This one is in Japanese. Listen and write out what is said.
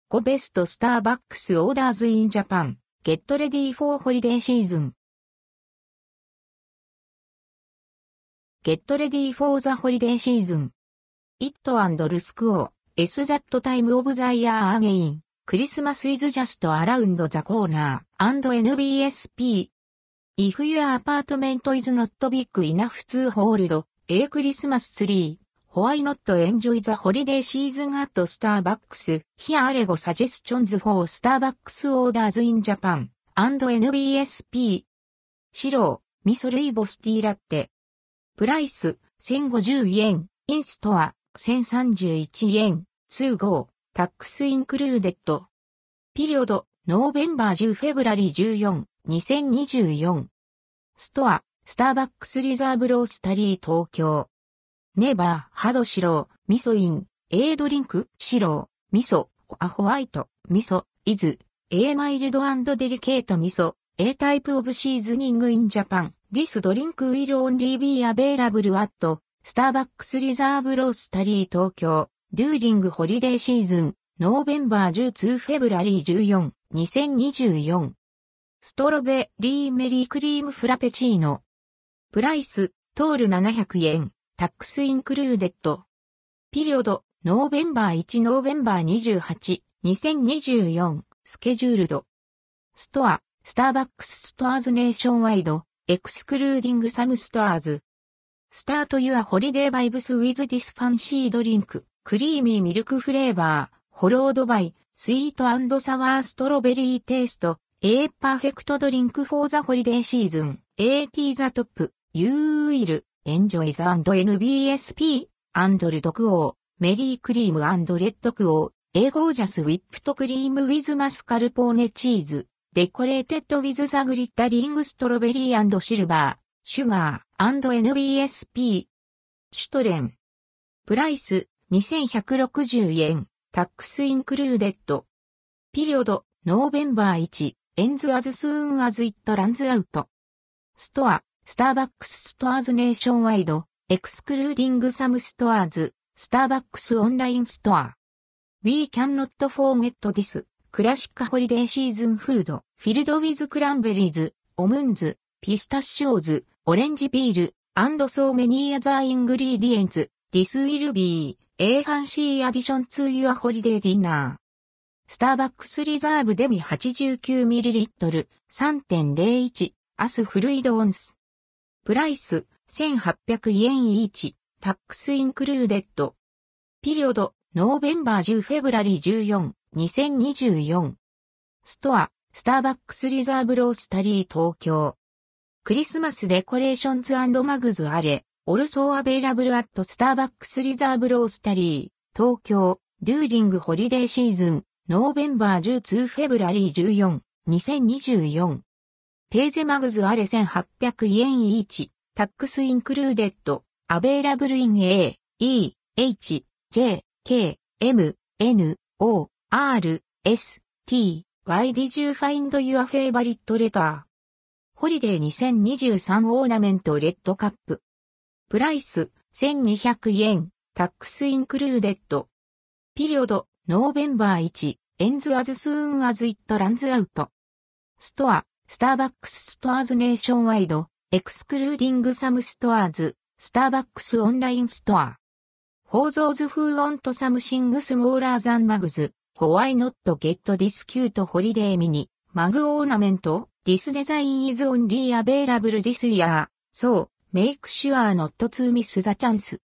5 Best Starbucks Orders in Japan. Get ready for holiday season. Get ready for the holiday season. It and Rusco, S that time of the year again. Christmas is just around the corner. And NBSP. If your apartment is not big enough to hold a Christmas tree, why not enjoy the holiday season at Starbucks? Here are 5 suggestions for Starbucks orders in Japan. And NBSP. 白、味噌ルイボスティーラッテ。プライス、1050円。インストア、1031円。25、タックスインクルーデッド。ピリオド、ノーベンバー10フェブラリ14、2024。ストア、スターバックスリザーブロースタリー東京。ネバー、ハド白、味噌イン、Aドリンク、白、味噌、アホワイト、味噌、イズ、A マイルド&デリケート味噌、A type of seasoning in Japan. This drink will only be available at Starbucks Reserve Roastery Tokyo during holiday season, November 12 February 14, 2024. ストロベリーメリークリームフラペチーノ。プライス、トール700円、タックスインクルーデッド。ピリオド、ノーベンバー1ノーベンバー28、2024、スケジュールド。ストア、スターバックスストアーズネーションワイド、エクスクルーディングサムストアーズ。Start your holiday vibes with this fancy drink, creamy milk flavor, followed by sweet and sour strawberry taste, a perfect drink for the holiday season, at the top, you will enjoy the &NBSP, and red o, Merry cream and red o, a gorgeous whipped cream with mascarpone cheese, decorated with the glittering strawberry and silver, sugar, and NBSP. シュトレン。プライス、2160円、タックスインクルーデッド。ピリオド、ノーベンバー1、ends as soon as it runs out. ストア、スターバックスストアーズネーションワイド、エクスクルーディングサムストアーズ、スターバックスオンラインストア。We cannot forget this, クラシックホリデーシーズンフード、フィルドウィズクランベリーズ、オムンズ、ピスタシオーズ、オレンジビール、and so many other ingredients. This will be a fancy addition to your holiday dinner. スターバックスリザーブデミ 89ml 3.01 アスフルイドオンス。プライス1800円イーチ、タックスインクルーデッド。ピリオド、ノーベンバー10フェブラリー14、2024。ストア、スターバックスリザーブロースタリー東京。クリスマスデコレーションズ&マグズあれ、also available at Starbucks Reserve Roastery, 東京、during holiday season, November 12 February 14, 2024。テーゼマグズあれ1800円イーチ、タックスインクルーデッド、available in A, E, H, J, K, M, N, O, R, S, T, Why did you find your favorite letter? ホリデー2023オーナメントレッドカップ。プライス1200円、タックスインクルーデッド。ピリオド、ノーベンバー1、ends as soon as it runs out. ストア、スターバックスストアーズネーションワイド、エクスクルーディングサムストアーズ、スターバックスオンラインストア。For those who want something smaller than mugs, why not get this cute holiday mini, mug ornament? This design is only available this year, so make sure not to miss the chance.